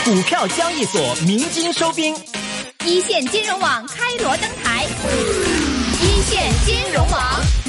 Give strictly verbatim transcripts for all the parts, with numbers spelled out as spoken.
股票交易所鸣金收兵， 一线金融网开锣登台，一线金融网。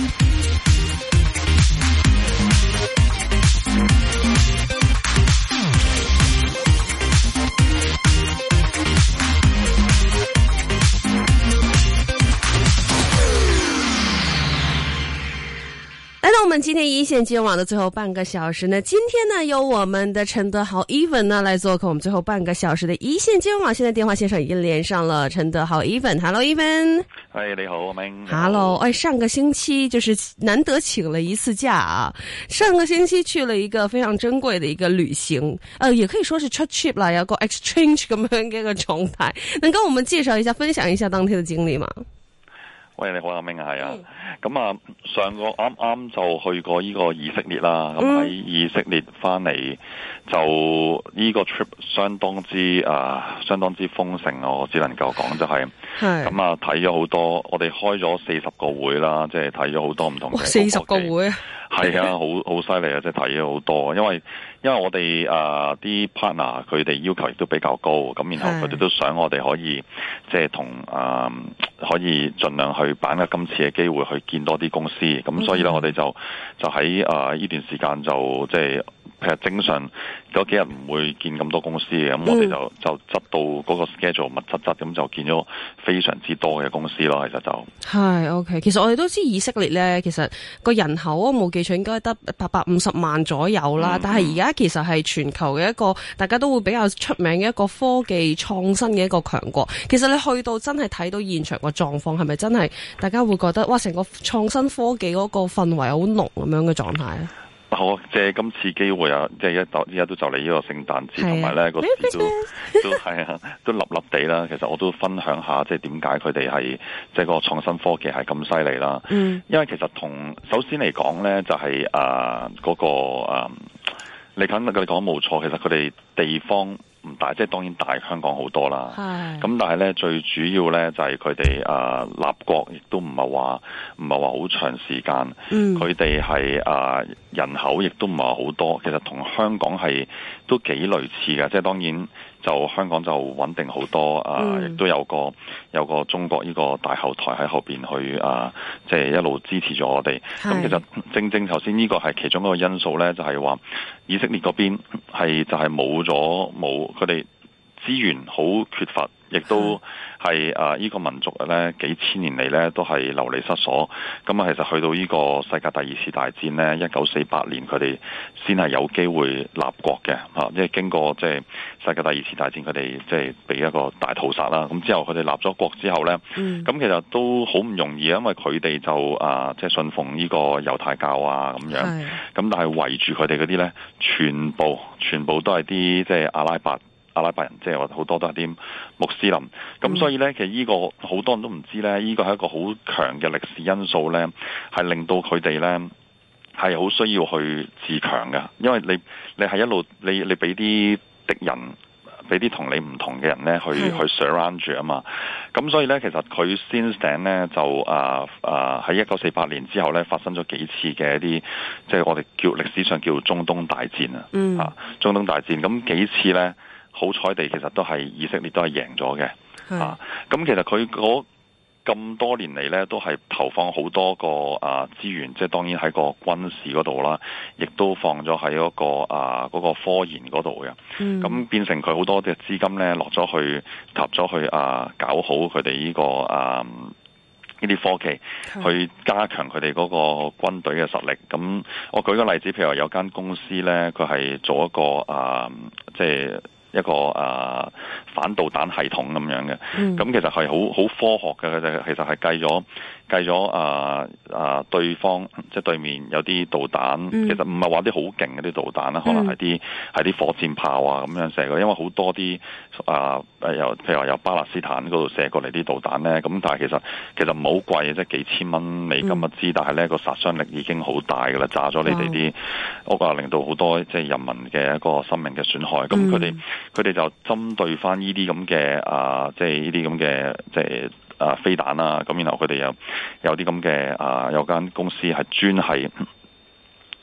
来到我们今天一线金融网的最后半个小时呢，今天呢由我们的陈德豪 Even 呢来做客我们最后半个小时的一线金融网。现在电话线上已经连上了陈德豪 Even。Hello Even。 係你好，阿明。 Hello， 哎，上個星期就是難得請了一次假啊，上個星期去了一個非常珍貴的一個旅行，呃，也可以說是出 trip 啦，有個 exchange 咁樣嘅一個狀態，能跟我們介紹一下，分享一下當天的經歷嗎？ 喂，你好，阿明啊，係啊，咁啊，上個啱啱就去過呢個以色列啦，咁喺、嗯、以色列翻嚟就呢個 trip 相當之啊、呃，相當之豐盛，我只能夠講就係、是，咁啊睇咗好多，我哋開咗四十個會啦，即係睇咗好多唔同嘅四十個會， 係啊，好好犀利啊，即係睇咗好多，因為因為我哋啊啲 partner 佢哋要求亦都比較高，咁然後佢哋都想我哋可以即係同啊可以盡量去把握今次嘅機會去見多啲公司，咁所以咧我哋就就喺啊呢段時間就即係譬如正常嗰幾日唔會見咁多公司嘅，咁我哋就就執到嗰個 schedule 密質質，咁就見咗非常之多嘅公司咯，其實就係 OK。其實我哋都知以色列咧，其實個人口我冇記錯應該得八百五十萬左右啦，嗯、但係而家其實係全球嘅一個大家都會比較出名嘅一個科技創新嘅一個強國。其實你去到真係睇到現場個狀況，係咪真係大家會覺得哇，成個創新科技嗰個氛圍好濃咁樣嘅狀態咧？ 好，借今次機會啊，即係一到依家都就嚟呢個聖誕節，同埋咧個市都都係啊，都立立地啦。其實我都分享下，即係點解佢哋係即係個創新科技係咁犀利啦。嗯，因為其實同首先嚟講咧，就係啊嗰個啊，你肯你講冇錯，其實佢哋地方唔大，即係當然大香港好多啦。係。咁但係咧，最主要咧就係佢哋啊立國，亦都唔係話唔係話好長時間。嗯。佢哋係啊人口亦都唔係話好多，其實同香港係都幾類似嘅。即係當然就香港就穩定好多啊，亦、嗯、都有個有個中國呢個大後台喺後邊去啊，即係一路支持咗我哋。咁其實正正頭先呢個係其中一個因素咧，就係話以色列嗰邊係就係冇咗冇。佢哋資源好缺乏，亦都係啊！呢個民族咧幾千年嚟咧都係流離失所。咁啊，其實去到呢個世界第二次大戰咧，一九四八年佢哋先係有機會立國嘅嚇，即係經過即係世界第二次大戰，佢哋即係被一個大屠殺啦。咁之後佢哋立咗國之後咧，咁、嗯、其實都好唔容易，因為佢哋就啊即係信奉呢個猶太教啊咁樣。咁但係圍住佢哋嗰啲咧，全部全部都係啲即係阿拉伯。阿拉伯人即係話好多都係啲穆斯林，咁、嗯、所以咧其實呢個好多人都唔知咧，呢個係一個好強嘅歷史因素咧，係令到佢哋咧係好需要去自強嘅，因為你你係一路你你俾啲敵人，俾啲同你唔同嘅人咧去去 surround 住啊嘛，咁所以咧其實佢 since then 咧就啊啊喺一九四八年之後咧發生咗幾次嘅一啲即係我哋叫歷史上叫中東大戰啊，嗯、啊中東大戰咁幾次咧。好彩地，其實都係以色列都係贏咗嘅，啊！咁其實佢嗰咁多年嚟咧，都係投放好多個啊資源，即係當然喺個軍事嗰度啦，亦都放咗喺嗰個啊嗰、嗰個科研嗰度嘅。咁、嗯、變成佢好多嘅資金咧落咗去，投咗去啊搞好佢哋呢個啊呢啲科技，去加強佢哋嗰個軍隊嘅實力。咁我舉個例子，譬如話有間公司咧，佢係做一個啊即係。一個啊反導彈系統咁樣嘅，咁、嗯、其實係好好科學嘅，佢哋其實係計咗計咗啊啊對方即係對面有啲導彈，嗯、其實唔係話啲好勁嘅啲導彈啦，可能係啲係啲火箭炮啊咁樣射嘅，因為好多啲啊誒由譬如話由巴勒斯坦嗰度射過嚟啲導彈咧，咁但係其實其實唔好貴，即係幾千蚊美金一支，嗯、但係咧個殺傷力已經好大㗎啦，炸咗你哋啲屋啊，令到好多即係人民嘅一個生命嘅損害，咁佢哋。佢哋就針對翻呢啲咁嘅啊，即係呢啲咁嘅即係啊飛彈啦，咁然後佢哋有有啲咁嘅啊，有間公司係專係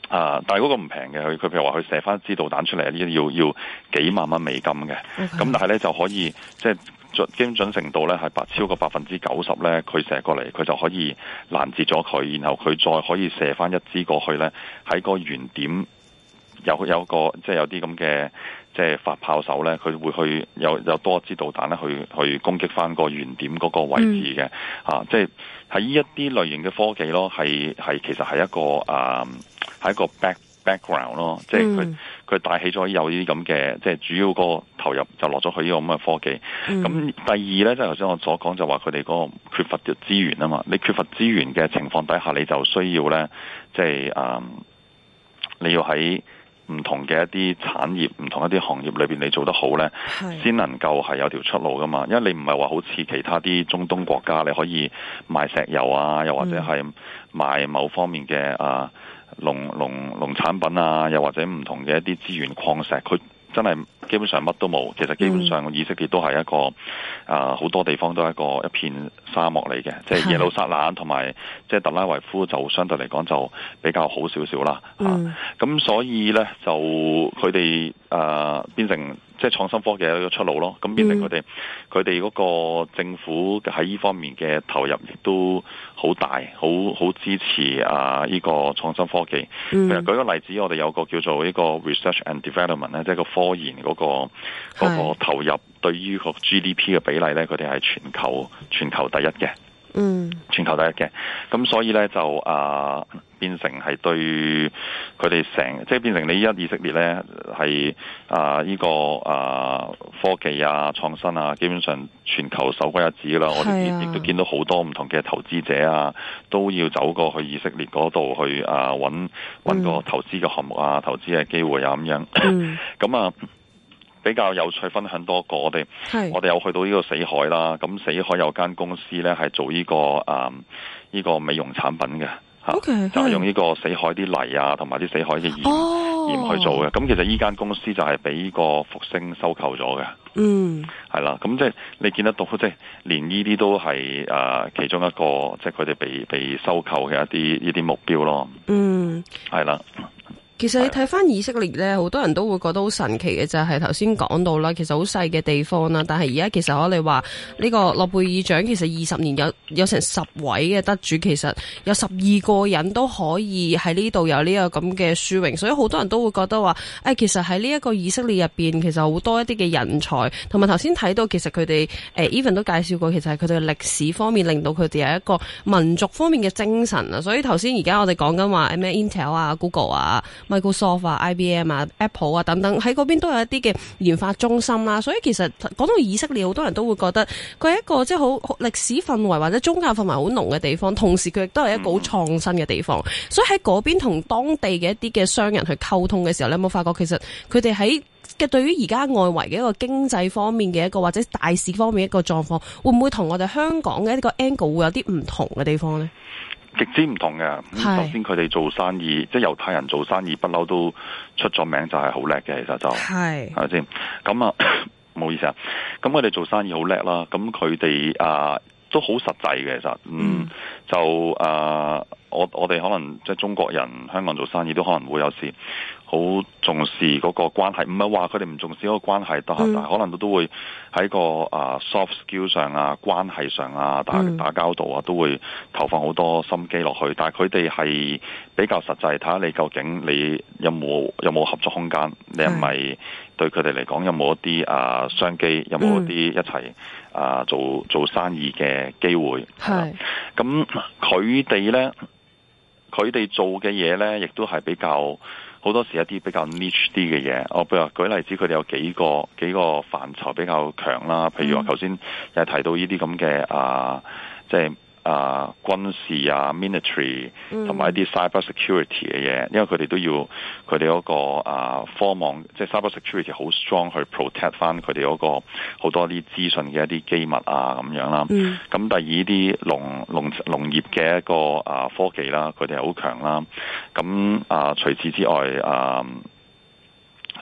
啊！但係嗰個唔平嘅，佢佢譬如話佢射翻支導彈出嚟，呢要要幾萬蚊美金嘅。咁、okay. 但係咧就可以即係準精準程度咧係百超過百分之九十咧，佢射過嚟佢就可以攔截咗佢，然後佢再可以射翻一支過去咧，喺個原點有有個即係有啲咁嘅即係發炮手咧，佢會去有有多支導彈咧去去攻擊翻個原點嗰個位置嘅、嗯。啊，即係喺呢一啲類型嘅科技咯，係係其實係一個啊。係一個 back background 咯，即係佢佢帶起咗有呢啲咁嘅，即係主要個投入就落咗去呢個咁嘅科技。咁、嗯、第二咧，即係頭先我所講就話佢哋嗰個缺乏嘅資源啊嘛，你缺乏資源嘅情況底下，你就需要咧，即係啊、嗯，你要喺唔同嘅一啲產業、唔同一啲行業裏邊，你做得好咧，先能夠係有條出路噶嘛。因為你唔係話好似其他啲中東國家，你可以賣石油啊，又或者係賣某方面嘅啊。農農農產品啊，又或者唔同嘅一啲資源礦石，佢真係基本上乜都冇。其實基本上以色列都係一個啊，好、呃、多地方都係一個一片沙漠嚟嘅。即係耶路撒冷同埋即係特拉維夫就相對嚟講就比較好少少啦。咁、嗯啊、所以咧就佢哋啊變成。即係創新科技嘅一個出路咯，咁變成佢哋佢哋嗰個政府喺呢方面嘅投入亦都好大，好好支持啊呢個創新科技。嗯、其實舉個例子，我哋有個叫做呢個 research and development 咧，即係個科研嗰個嗰個投入對於個 G D P 嘅比例咧，佢哋係全球全球第一嘅。嗯，全球第一嘅，咁所以咧就啊變成係對佢哋成，即係變成你依家以色列咧係啊呢個啊科技啊創新啊，基本上全球首屈一指啦。我哋亦都見到好多唔同嘅投資者啊，都要走過去以色列嗰度去啊揾揾個投資嘅項目啊、嗯、投資嘅機會啊咁樣。咁、嗯、啊。比較有趣，分享多個我哋，我哋有去到呢個死海啦。咁死海有間公司咧，係做呢、這個啊呢、嗯這個美容產品嘅嚇，okay, 就係用呢個死海啲泥啊，同埋啲死海嘅鹽、oh. 鹽去做嘅。咁其實呢間公司就係俾呢個復星收購咗嘅。嗯，係啦。咁即係你見得到，即係連呢啲都係啊、呃、其中一個，即係佢哋被被收購嘅一啲呢啲目標咯。嗯，係啦。 其實你睇翻以色列咧，好多人都會覺得好神奇嘅就係頭先講到啦，其實好細嘅地方啦，但係而家其實我哋話呢個諾貝爾獎其實二十年有有成十位嘅得主，其實有十二個人都可以喺呢度有呢個咁嘅殊榮，所以好多人都會覺得話，誒、哎、其實喺呢一個以色列入邊，其實好多一啲嘅人才，同埋頭先睇到其實佢哋誒 even 都介紹過，其實係佢哋嘅歷史方面令到佢哋有一個民族方面嘅精神啊，所以頭先而家我哋講緊話咩 Intel 啊、Google 啊、Microsoft 啊、I B M 啊、Apple 啊等等，喺嗰邊都有一啲嘅研發中心啦。所以其實講到以色列，好多人都會覺得佢係一個即係好歷史氛圍或者宗教氛圍好濃嘅地方，同時佢亦都係一個好創新嘅地方。所以喺嗰邊同當地嘅一啲嘅商人去溝通嘅時候，你有冇發覺其實佢哋喺嘅對於而家外圍嘅一個經濟方面嘅一個或者大市方面一個狀況，會唔會同我哋香港嘅一個 angle 會有啲唔同嘅地方呢？ 極之唔同嘅。首先佢哋做生意，即係猶太人做生意不嬲都出咗名，就係好叻嘅。其實就係係咪先？咁啊，唔好意思啊。咁佢哋做生意好叻啦。咁佢哋啊都好實際嘅。其實嗯，嗯就啊，我我哋可能即係中國人香港做生意都可能會有時好重視嗰個關係，唔係話佢哋唔重視嗰個關係，但係、嗯、可能都都會喺個啊 soft skill 上啊、關係上啊、打打交道啊，都會投放好多心機落去。但係佢哋係比較實際，睇下你究竟你有冇有冇合作空間，你係咪對佢哋嚟講有冇一啲啊商機，有冇一啲一齊啊做做生意嘅機會？係咁佢哋咧，佢哋做嘅嘢咧，亦都係比較。好多時一啲比較 niche 啲嘅嘢，我譬如話舉例子，佢哋有幾個幾個範疇比較強啦。譬如話頭先又提到呢啲咁嘅啊，即係啊軍事啊 military 同埋一啲 cyber security 嘅嘢，因為佢哋都要佢哋嗰個啊科網，即係 cyber security 好 strong 去 protect 翻佢哋嗰個好多啲資訊嘅一啲機密啊咁樣啦。咁、嗯、第二啲農農農業嘅一個啊科技啦，佢哋係好強啦。咁啊除此之外啊，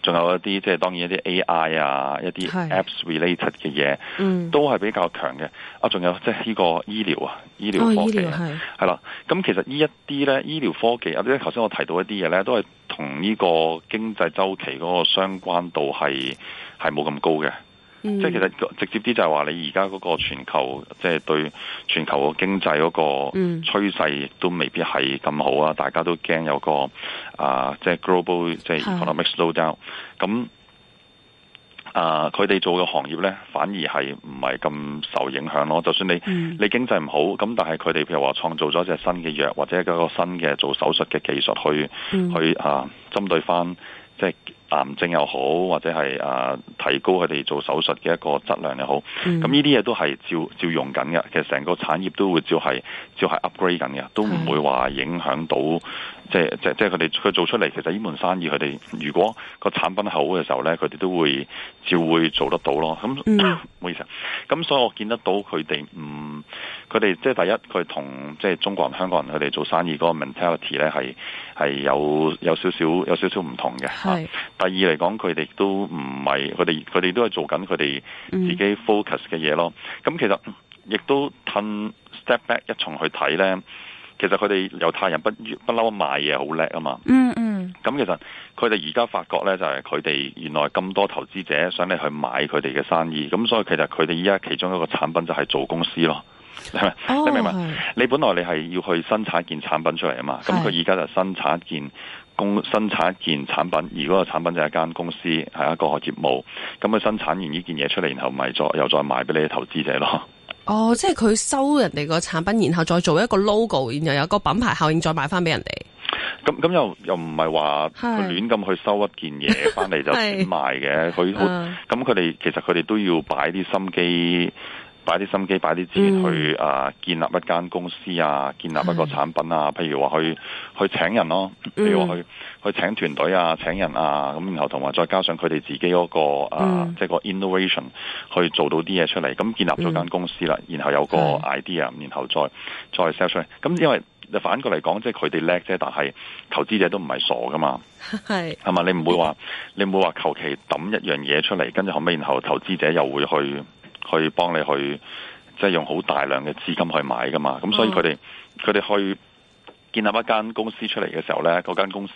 仲有一啲即係當然一啲 A I 啊，一啲 apps related 嘅嘢，嗯，都係比較強嘅。啊，仲有即係呢個醫療啊，醫療科技係係啦。咁其實呢一啲咧醫療科技，或者頭先我提到一啲嘢咧，都係同呢個經濟週期嗰個相關度係係冇咁高嘅。嗯、即係其實直接啲就係話你而家嗰個全球，即係對全球個經濟嗰個趨勢都未必係咁好啊！大家都驚有個啊，即係 global 即係 economic slowdown。咁啊，佢哋做嘅行業咧，反而係唔係咁受影響咯。就算你、嗯、你經濟唔好，咁但係佢哋譬如話創造咗一隻新嘅藥，或者一個新嘅做手術嘅技術去、嗯、去啊，針對翻即係癌症又好，或者係啊提高佢哋做手術嘅一個質量又好，咁呢啲嘢都係照照用緊嘅。其實成個產業都會照係照係 upgrade 緊嘅，都唔會話影響到即係即係即係佢哋佢做出嚟。其實呢門生意佢哋如果個產品好嘅時候咧，佢哋都會照會做得到咯。咁唔、嗯、好意思，咁所以我見得到佢哋唔佢哋即係第一，佢同即係中國人、香港人佢哋做生意嗰個 mentality 咧係係有有少少有少少唔同嘅。係。第二嚟講，佢哋都唔係，佢哋佢哋都係做緊佢哋自己 focus 嘅嘢咯。咁、嗯、其實亦都褪 step back 一重去睇咧，其實佢哋猶太人不不嬲賣嘢好叻啊嘛。嗯嗯。咁其實佢哋而家發覺咧，就係佢哋原來咁多投資者想你去買佢哋嘅生意，咁所以其實佢哋依家其中一個產品就係做公司咯。係咪？哦、你明唔明？你本來你係要去生產一件產品出嚟啊嘛，咁佢而家就生產一件公生產一件產品，而嗰個產品就係一間公司，係一個業務。咁佢生產完呢件嘢出嚟，然後咪再又再賣俾你嘅投資者咯。 哦，即係佢收人哋個產品，然後再做一個 logo，然後有個品牌效應，再賣翻俾人哋。 咁咁又又唔係話佢亂咁去收一件嘢翻嚟就轉賣嘅。佢好咁佢哋其實佢哋都要擺啲心機。擺啲心機，擺啲資源去啊、呃，建立一間公司啊，建立一個產品啊，譬如話去去請人咯，譬如話去去請團隊啊，請人啊，咁然後同埋再加上佢哋自己嗰、那個啊，呃嗯、即係個 innovation 去做到啲嘢出嚟，咁建立咗間公司啦，然後有個 idea，然後再再 sell 出嚟。咁因為反過嚟講，即係佢哋叻啫，但係投資者都唔係傻噶嘛，係係嘛？你唔會話你唔會話求其抌一樣嘢出嚟，跟住後尾然後投資者又會去。去幫你去，即係用好大量嘅資金去買噶嘛，咁所以佢哋佢哋去建立一間公司出嚟嘅時候咧，嗰間公司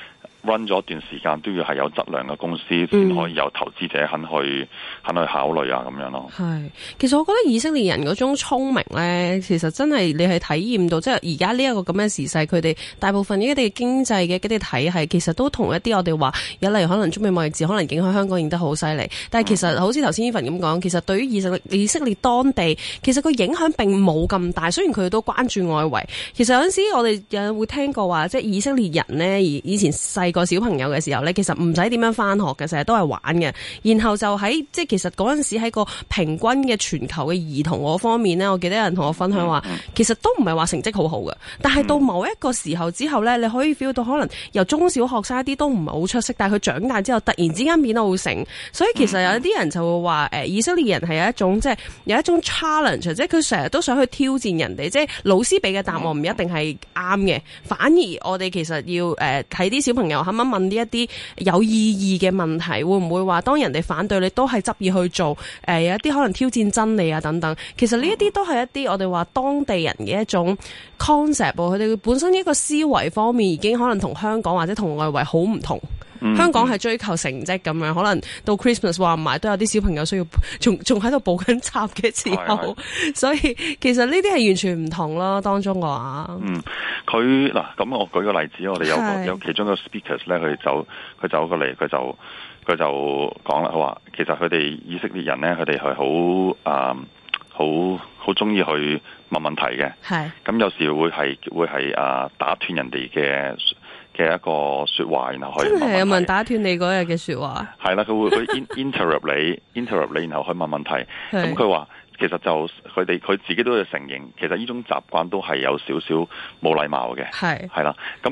run 咗一段時間都要係有質量嘅公司，先可以有投資者肯去、嗯、肯去考慮啊，咁樣咯。係， 其實我覺得以色列人嗰種聰明咧，其實真係你係體驗到，即係而家呢一個咁嘅時勢，佢哋大部分呢一啲經濟嘅嗰啲體系，其實都同一啲我哋話有例如可能中美貿易戰可能影響香港影得好犀利，但係其實、嗯、好似頭先伊凡咁講，其實對於以色列以色列當地，其實個影響並冇咁大。雖然佢哋都關注外圍，其實有陣時我哋有人會聽過話，即係以色列人呢，以前細個小朋友嘅時候呢，其實唔使點樣返學嘅，成日都係玩嘅。然後就喺即係其實嗰陣時喺個平均嘅全球嘅兒童嗰方面呢，我記得有人同我分享話，其實都唔係話成績好好嘅。但係到某一個時候之後呢，你可以 feel 到可能由中小學生一啲都唔係好出色，但係佢長大之後突然之間變得好醒。所以其實有啲人就會話，誒，以色列人係有一種即係有一種 challenge，即係佢成日都想去挑戰人哋，即係老師俾嘅答案唔一定係啱嘅，反而我哋其實要誒睇啲小朋友肯唔肯問呢一啲有意義嘅問題，會唔會話當人哋反對你都係執意去做？誒、呃，有一啲可能挑戰真理啊等等。其實呢一啲都係一啲我哋話當地人嘅一種 concept，佢哋本身一個思維方面已經可能同香港或者同外圍好唔同。嗯、香港係追求成績咁樣，可能到 Christmas 話唔埋都有啲小朋友需要仲仲喺度補緊習嘅時候，所以其實呢啲係完全唔同咯。當中嘅話，嗯， 佢嗱咁我舉個例子，我哋有個有其中一個 speakers 咧，佢走佢走過嚟，佢就佢就講啦，佢話其實佢哋以色列人咧，佢哋係好啊好好中意去問問題嘅，係咁有時會係會係啊打斷人哋嘅嘅一個說話，然後去問問題。真係有人打斷你嗰日嘅說話？係啦，佢會去 interrupt 你，interrupt 你，然後去問問題。咁佢話其實就佢哋佢自己都要承認，其實呢種習慣都係有少少冇禮貌嘅。係係啦，咁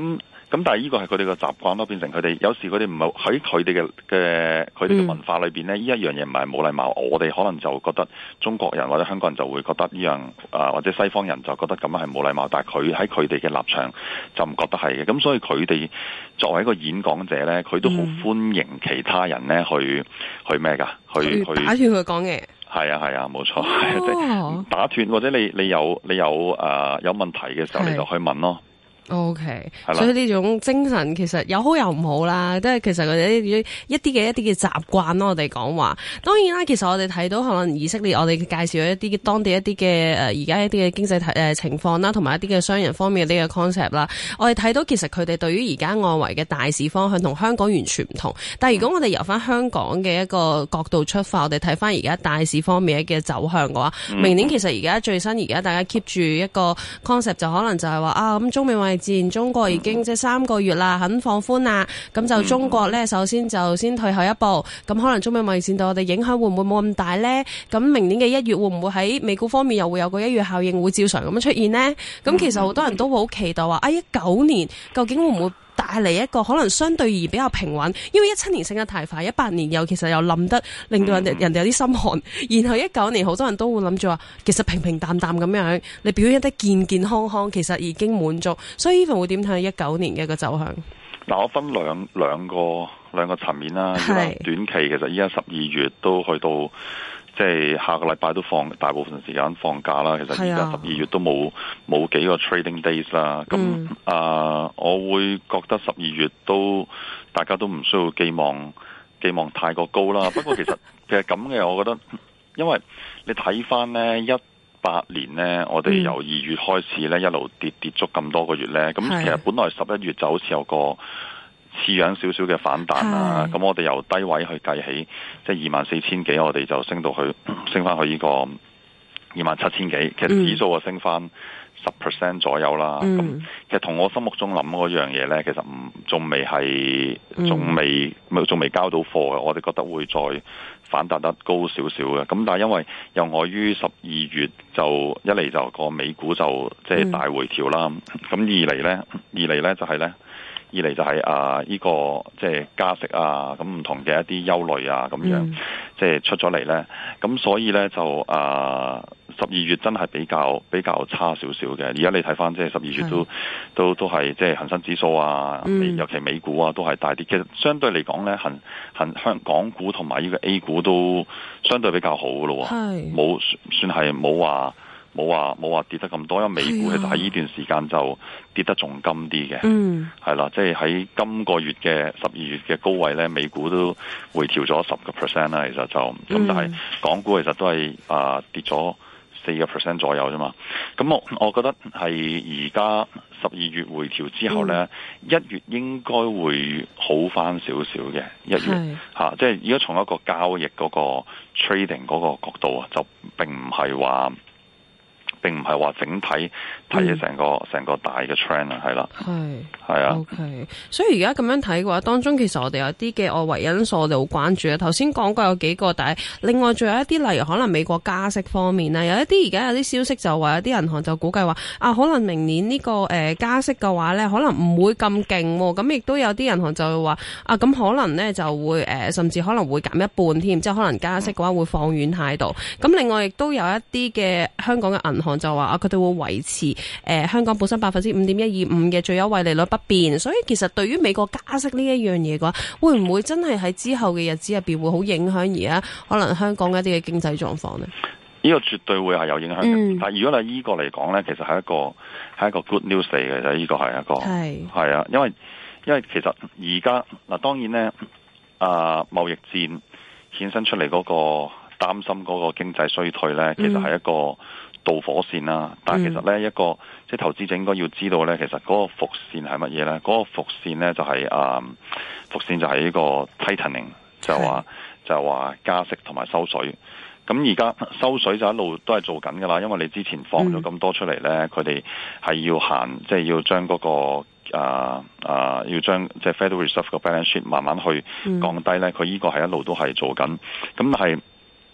咁但係呢個係佢哋嘅習慣咯，變成佢哋有時佢哋唔係喺佢哋嘅嘅佢哋嘅文化裏邊咧，呢一樣嘢唔係冇禮貌。我哋可能就覺得中國人或者香港人就會覺得呢樣啊，或者西方人就覺得咁樣係冇禮貌，但係佢喺佢哋嘅立場就唔覺得係嘅。咁所以佢哋作為一個演講者咧，佢都好歡迎其他人咧去去咩㗎？去去打斷佢講嘢。 係啊係啊，冇錯，係即係打斷或者你你有你有誒、呃、有問題嘅時候，你就去問咯。 O K， 所以呢種精神其實有好有唔好啦，即係其實佢哋一啲嘅一啲嘅習慣咯。我哋講話，當然啦，其實我哋睇到可能以色列，我哋介紹咗一啲當地一啲嘅誒而家一啲嘅經濟誒、呃、情況啦，同埋一啲嘅商人方面嘅呢個 concept 啦。我哋睇到其實佢哋對於而家外圍嘅大市方向同香港完全唔同。但係如果我哋由翻香港嘅一個角度出發，我哋睇翻而家大市方面嘅走向嘅話，嗯、明年其實而家最新而家大家 keep 住一個 concept 就可能就係話啊，咁中美貿易戰中國已經即係三個月啦，肯放寬啦，咁就中國咧首先就先退後一步，咁可能中美貿易戰對我哋影響會唔會冇咁大咧？咁明年嘅一月會唔會喺美股方面又會有個一月效應會照常咁樣出現呢？咁其實好多人都會好期待話啊，一九年究竟會唔會帶嚟一個可能相對而比較平穩？因為一七年升得太快，一八年又其實又冧得令到人哋人哋有啲心寒，然後一九年好多人都會諗住話，其實平平淡淡咁樣，你表現得健健康康，其實已經滿足。所以 Evan 會點睇一九年嘅一個走向？ 嗱，我分兩兩個兩個層面啦。短期其實依家十二月都去到。即係下個禮拜都放大部分時間放假啦，其實而家十二月都冇冇幾個 trading days 啦。咁啊、嗯呃，我會覺得十二月都大家都唔需要寄望寄望太過高啦。不過其實其實咁嘅，我覺得因為你睇翻呢一八年呢，我哋由二月開始呢，一路跌跌足咁多個月呢。咁其實本來十一月就好似有個似樣少少嘅反彈啦，咁我哋由低位去計起，即係二萬四千幾，我哋就升到去升翻去呢個二萬七千幾，其實指數啊升翻十 percent 左右啦。咁、嗯、其實同我心目中諗嗰樣嘢咧，其實唔仲未係，仲未仲未交到貨嘅，我哋覺得會再反彈得高少少嘅。咁但係因為又礙於十二月就一嚟就個美股就即係大回調啦，咁、嗯、二嚟咧，二嚟咧就係咧。二嚟就係、是、啊，呢、這個即係、就是、加息啊，咁唔同嘅一啲憂慮啊，咁樣即係、嗯、出咗嚟咧。咁所以咧就啊，十二月真係比較比較差少少嘅。而家你睇翻即係十二月都都都係即係恒生指數啊，嗯、尤其美股啊都係大跌。其實相對嚟講咧，恒恒香港股同埋呢個 A 股都相對比較好嘅咯。冇算係冇話。冇話冇話跌得咁多，因為美股其實喺呢段時間就跌得仲金啲嘅，係啦、嗯，即係喺今個月嘅十二月嘅高位咧，美股都回調咗十個 percent 啦，其實就咁，嗯、但係港股其實都係啊、呃、跌咗四個 percent 左右啫嘛。咁我我覺得係而家十二月回調之後咧，一、嗯、月應該會好翻少少嘅一月嚇，即係如果從一個交易嗰個 trading 嗰個角度啊，就並唔係話。並唔係話整體睇嘅成個成、嗯、個大嘅 trend 啊，係啦，係係啊。 OK，所以而家咁樣睇嘅話，當中其實我哋有啲嘅外圍因素，我哋好關注啊。頭先講過有幾個，但係另外仲有一啲，例如可能美國加息方面咧，有一啲而家有啲消息就話有啲銀行就估計話啊，可能明年呢、這個誒、呃、加息嘅話咧，可能唔會咁勁。咁亦都有啲銀行就會話啊，咁可能咧就會誒、呃，甚至可能會減一半添，即係可能加息嘅話會放軟態度。咁、嗯、另外亦都有一啲嘅香港嘅銀行。就話啊，佢哋會維持誒、呃、香港本身百分之五點一二五嘅最優惠利率不變，所以其實對於美國加息呢一樣嘢嘅話，會唔會真係喺之後嘅日子入邊會好影響而家可能香港嘅一啲嘅經濟狀況呢？ 呢個絕對會係有影響嘅，嗯、但係如果你依個嚟講呢，其實係一個係一個 good news 嚟嘅，就係呢個係一個係係啊，因為因為其實而家嗱當然呢，啊貿易戰衍生出嚟嗰個擔心嗰個經濟衰退呢，其實係一個。嗯導火線啦，但係其實咧、嗯、一個即係投資者應該要知道咧，其實嗰個伏線係乜嘢咧？嗰、嗰個伏線咧就係、是、啊、嗯，伏線就係呢個 tightening，就話是就話加息同埋收水。咁而家收水就一路都係做緊噶啦，因為你之前放咗咁多出嚟咧，佢哋係要行，即、就、係、是、要將嗰、嗰個啊啊，要將即係 Federal Reserve 個 balance sheet 慢慢去降低咧。佢呢、嗯、個係一路都係做緊，咁係。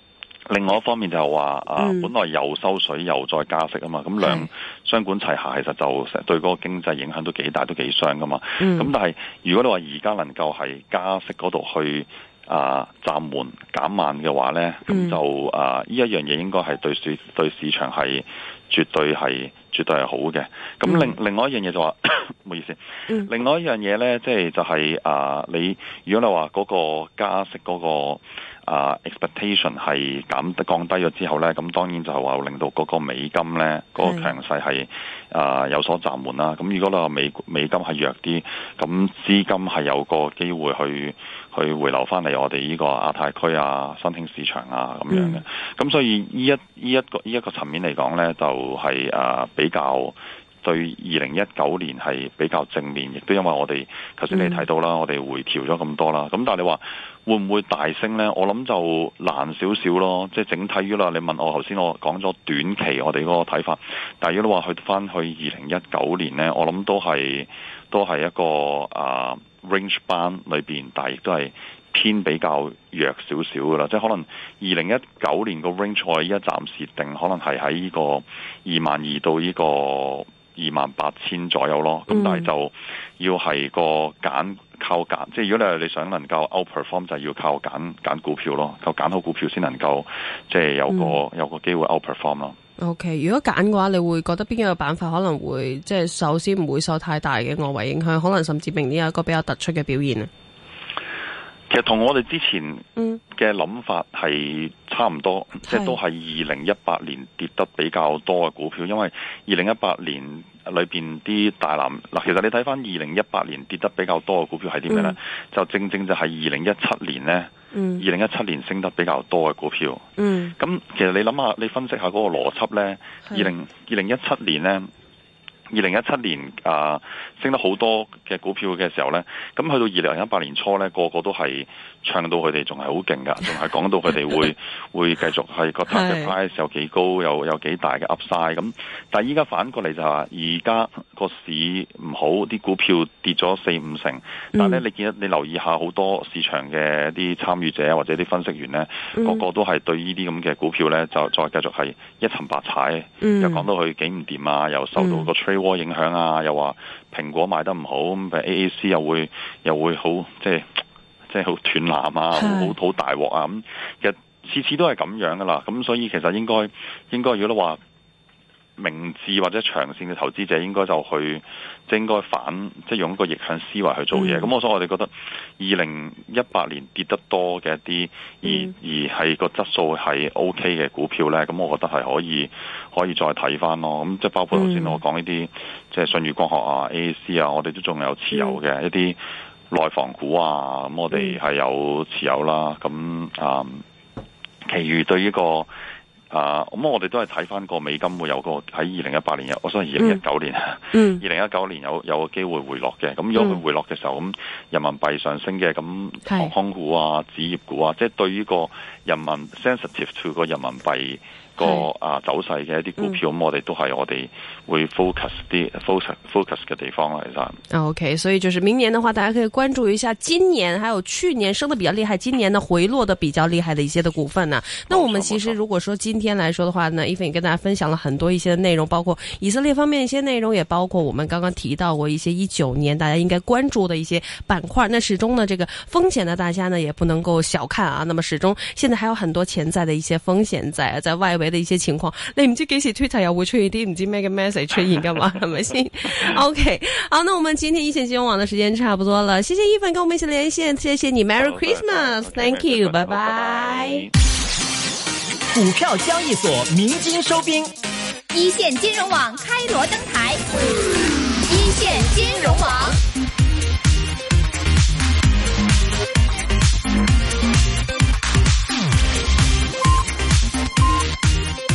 另外一方面就係話啊， 嗯、 本來又收水又再加息啊嘛，咁兩雙管齊下，其實就成對嗰個經濟影響都幾大，都幾傷噶嘛。咁、嗯、但係如果你話而家能夠係加息嗰度去啊暫緩減慢嘅話咧，咁、嗯、就啊呢一樣嘢應該係對市對市場係絕對係絕對係好嘅。咁另、嗯、另外一樣嘢就話，唔好意思，嗯、另外一樣嘢咧，即係就係、是、啊你如果你話嗰個加息嗰、那個。啊、uh, expectation 係減降低咗之後咧，咁當然就係話令到嗰個美金咧嗰、那個強勢係啊、呃、有所暫緩啦。咁如果你話美美金係弱啲，咁資金係有個機會去去回流翻嚟我哋呢個亞太區啊、新興市場啊咁樣嘅。咁、嗯、所以呢一呢一個呢一個層面嚟講咧，就係、是、啊、呃、比較。對二零一九年係比較正面，亦都因為我哋頭先你睇到啦，嗯、我哋回調咗咁多啦。咁但係你話會唔會大升呢？我諗就難少少咯。即係整體於啦，你問我頭先我講咗短期我哋嗰個睇法，但係如果你話去翻去二零一九年呢，我諗都係都係一個啊、uh, range band 裏邊，但係亦都係偏比較弱少少噶啦。即係可能二零一九年個 range 我依家暫時定可能係喺呢個二萬二到呢個二萬八千左右咯，咁、嗯、但係就要係個揀靠揀，即係如果你係你想能夠 outperform 就係要靠揀揀股票咯，靠揀好股票先能夠即係有個、嗯、有個機會 outperform 咯。 OK，如果揀嘅話，你會覺得邊一個板塊可能會即係首先唔會受太大嘅外圍影響，可能甚至明年有一個比較突出嘅表現啊？ 其實同我哋之前嘅諗法係差唔多，嗯、即係都係二零一八年跌得比較多嘅股票，因為二零一八年裏邊啲大藍嗱，其實你睇翻二零一八年跌得比較多嘅股票係啲咩呢？嗯、就正正就係二零一七年呢，二零一七年升得比較多嘅股票。嗯，咁其實你諗下，你分析下嗰個邏輯呢，二零二零一七年呢。二零一七年啊、呃，升得好多嘅股票嘅時候呢，咁去到二零一八年初呢，個個都係唱到佢哋仲係好勁㗎，仲係講到佢哋會會繼續係個 target price 有幾高，有有幾大嘅 upside 咁。但係依家反過嚟就係話，而家個市唔好，啲股票跌咗四五成。但係咧，你見得你留意下好多市場嘅啲參與者或者啲分析員呢，嗯、個個都係對呢啲咁嘅股票呢，就再繼續係一沉百踩，嗯、又講到佢幾唔掂啊，又受到個 trade影響啊，又話蘋果賣得唔好，咁 A A C 又會又會好即係即係好斷纜啊，好好大鑊啊，咁其實次次都係咁樣噶啦，咁所以其實應該應該如果你話明智或者長線嘅投資者，應該就去即係應該反即係用一個逆向思維去做嘢。咁、嗯、我所以我哋覺得二零一八年跌得多嘅一啲，嗯、而而係個質素係 O K 嘅股票咧，咁我覺得係可以可以再睇翻咯。咁即係包括頭先我講呢啲，即係舜宇光學啊、A A C 啊，我哋都仲有持有嘅、嗯、一啲內房股啊，咁我哋係有持有啦。咁啊、嗯，其餘對呢、這個。啊，咁、uh, 我哋都係睇翻個美金會有個喺二零一八年有，我相信二零一九年，二零一九年有有個機會回落嘅。咁如果佢回落嘅時候，咁人民幣上升嘅，咁航空股啊、紙業股啊，即係對於個人民 sensitive to 個人民幣個啊走勢嘅一啲股票，咁、嗯、我哋都係我哋會 focus 啲 focus focus 嘅地方啦，其實。 OK， 所以就是明年的話，大家可以關注一下今年還有去年升得比較厲害，今年呢回落得比較厲害的一些的股份呢、啊。那我們其實如果說今天來說的話呢，Ethan跟大家分享了很多一些的內容，包括以色列方面一些內容，也包括我們剛剛提到過一些一九年大家應該關注的一些板塊。那始終呢，這個風險呢，大家呢也不能夠小看啊。那麼始終現在還有很多潛在的一些風險在在外圍的一些情況，你唔知幾時 Twitter 又會出現啲唔知咩嘅 message 出現㗎嘛，係咪先 ？OK， 好，那我們今天一線金融網的時間差不多了，謝謝Ethan跟我們一起連線，謝謝你 ，Merry Christmas，Thank you，拜拜。 股票交易所鳴金收兵， 一線金融網開鑼登